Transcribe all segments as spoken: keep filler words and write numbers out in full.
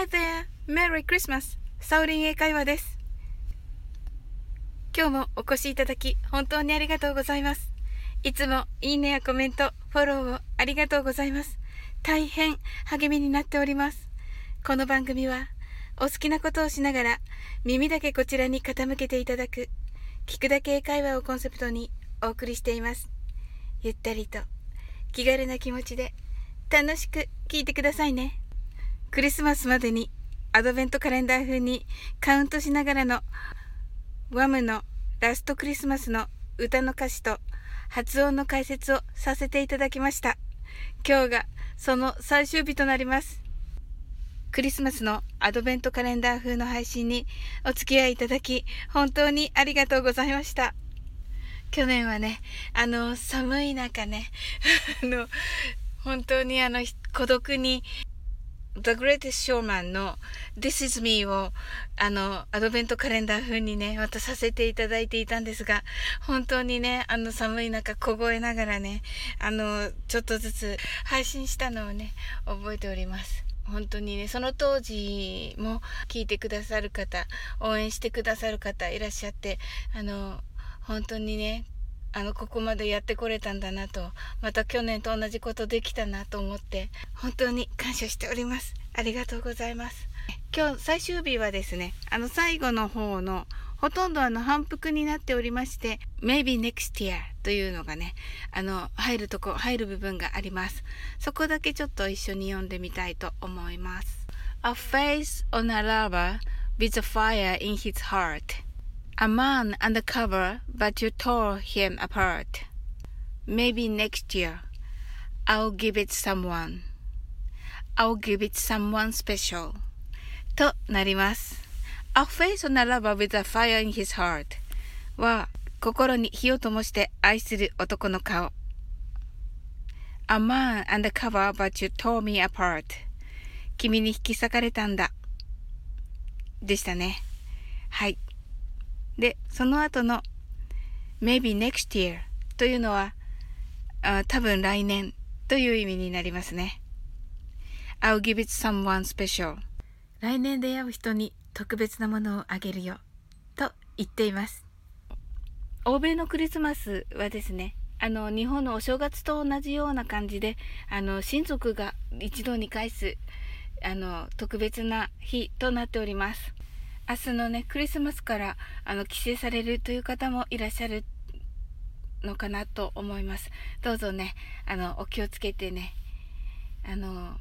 Hi there! Merry Christmas! サオリン英会話です。今日もお越しいただき本当にありがとうございます。いつもいいねやコメント、フォローをありがとうございます。大変励みになっております。この番組はお好きなことをしながら耳だけこちらに傾けていただく聞くだけ英会話をコンセプトにお送りしています。ゆったりと気軽な気持ちで楽しく聞いてくださいね。クリスマスまでにアドベントカレンダー風にカウントしながらのワムのラストクリスマスの歌の歌詞と発音の解説をさせていただきました。今日がその最終日となります。クリスマスのアドベントカレンダー風の配信にお付き合いいただき本当にありがとうございました。去年はね、あの寒い中ねあの本当にあの孤独にThe Greatest Showman の This is Me をあのアドベントカレンダー風にね渡させていただいていたんですが、本当にねあの寒い中凍えながらねあのちょっとずつ配信したのをね覚えております。本当にねその当時も聞いてくださる方、応援してくださる方いらっしゃって、あの本当にねあのここまでやってこれたんだなと、また去年と同じことできたなと思って本当に感謝しております。ありがとうございます。今日最終日はですね、あの最後の方のほとんどあの反復になっておりまして Maybe next year というのがねあの入るとこ入る部分があります。そこだけちょっと一緒に読んでみたいと思います。 A face on a lover with a fire in his heart.A man undercover, but you tore him apart. Maybe next year, I'll give it someone. I'll give it someone special. となります。A face on a lover with a fire in his heart は、心に火を灯して愛する男の顔。A man undercover, but you tore me apart. 君に引き裂かれたんだ。でしたね。はい。で、その後の Maybe next year というのはあ多分来年という意味になりますね。I'll give it someone special 来年出会う人に特別なものをあげるよと言っています。欧米のクリスマスはですね、あの日本のお正月と同じような感じであの親族が一堂に会すあの特別な日となっております。明日のねクリスマスからあの帰省されるという方もいらっしゃるのかなと思います。どうぞねあのお気をつけてねあの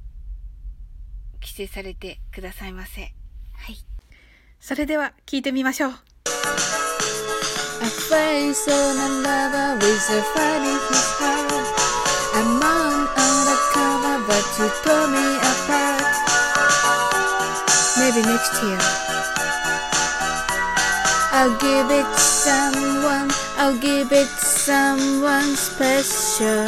帰省されてくださいませ。はい、それでは聞いてみましょう。 A face on a lover with a fire in his heart. A man undercover but you tore me apart. Maybe next year.I'll give it someone, I'll give it someone special.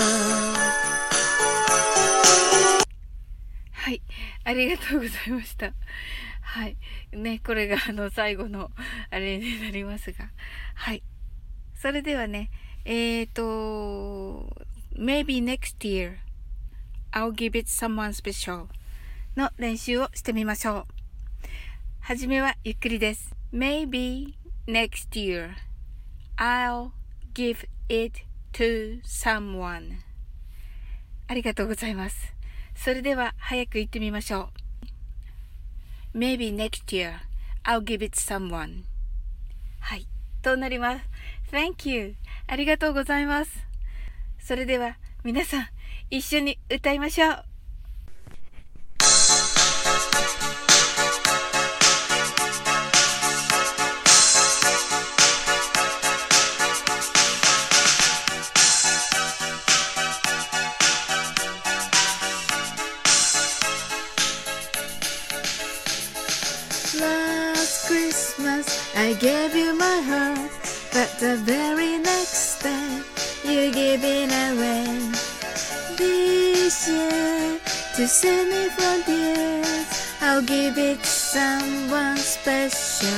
はい、ありがとうございました。はい、ね、これがあの最後のあれになりますが、はい。それではね、えーと、Maybe next year, I'll give it someone special の練習をしてみましょう。はじめはゆっくりです。Maybe next year, I'll give it to someone. ありがとうございます。それでは早く言ってみましょう。Maybe next year, I'll give it someone. はい、となります。Thank you. ありがとうございます。それでは皆さん一緒に歌いましょう。Last Christmas I gave you my heart, but the very next day you gave it away. This year to save me from tears, I'll give it someone special.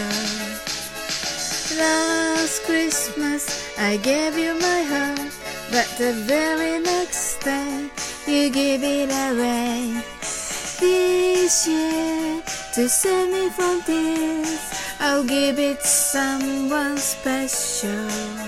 Last Christmas I gave you my heart, but the very next day you gave it away. This year to save me from tears. I'll give it someone special.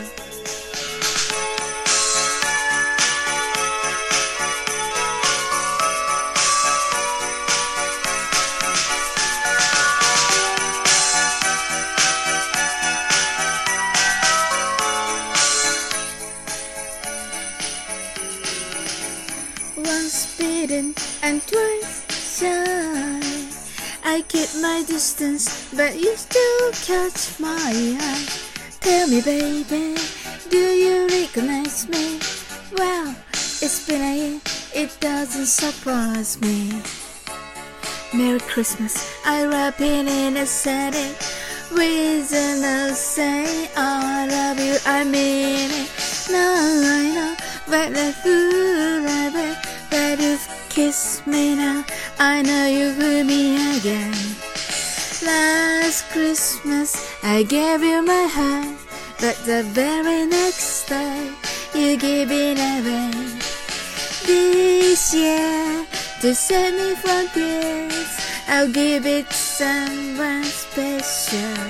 Once bitten and twice shy, I keep my distance, but you still catch my eye. Tell me, baby, do you recognize me? Well, it's been a year, it doesn't surprise me. Merry Christmas, I wrap it in a setting with a say I love you, I mean it. Now I know, but the fool I bet that you've kissed me now. I know you fooled me again. Last Christmas I gave you my heart, but the very next day you gave it away. This year, to save me from tears, I'll give it someone special.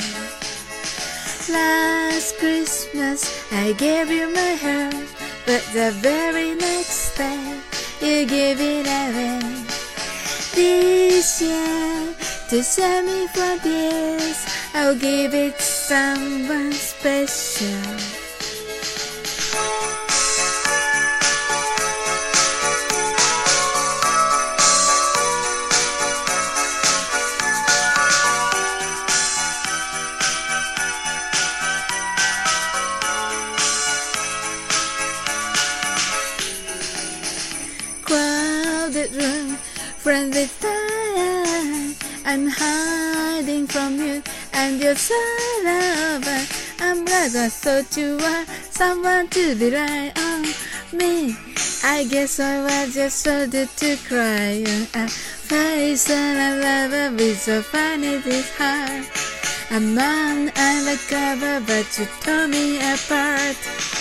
Last Christmas I gave you my heart, but the very next day you gave it away. This year, to save me from tears, I'll give it someone special. Crowded room, friendly time, I'm hiding from you and your side. I'm glad I thought you were someone to rely on me. I guess I was just started to cry. A face and a lover with so funny this heart. A man undercover, but you tore me apart.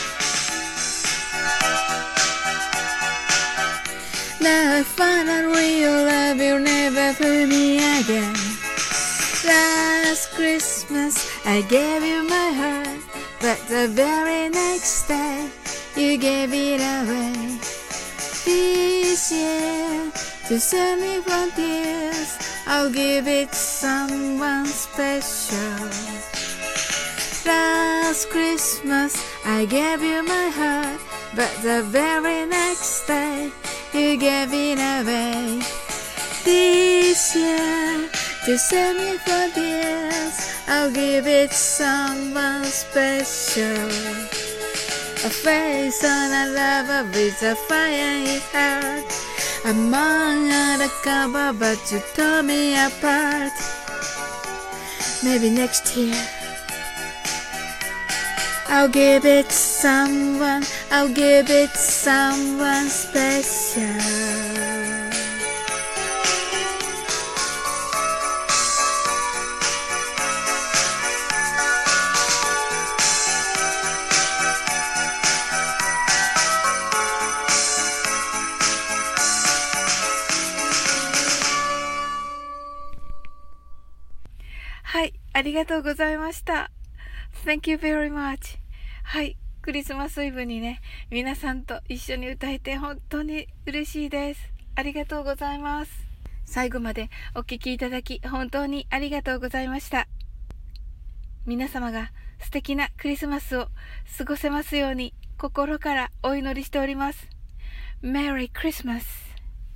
Now I find out real love, you'll never fool me again. Last Christmas I gave you my heart, but the very next day you gave it away. This year, to save me from tears, I'll give it someone special. Last Christmas I gave you my heart, but the very next day you gave it away. This year, to save me from tears, I'll give it someone special. A face on a lover with a fire in his heart. Among undercover, but you tore me apart. Maybe next year I'll give it someone, I'll give it someone special.はい、ありがとうございました。Thank you very much. はい、クリスマスイブにね、皆さんと一緒に歌えて本当に嬉しいです。ありがとうございます。最後までお聴きいただき本当にありがとうございました。皆様が素敵なクリスマスを過ごせますように心からお祈りしております。Merry Christmas!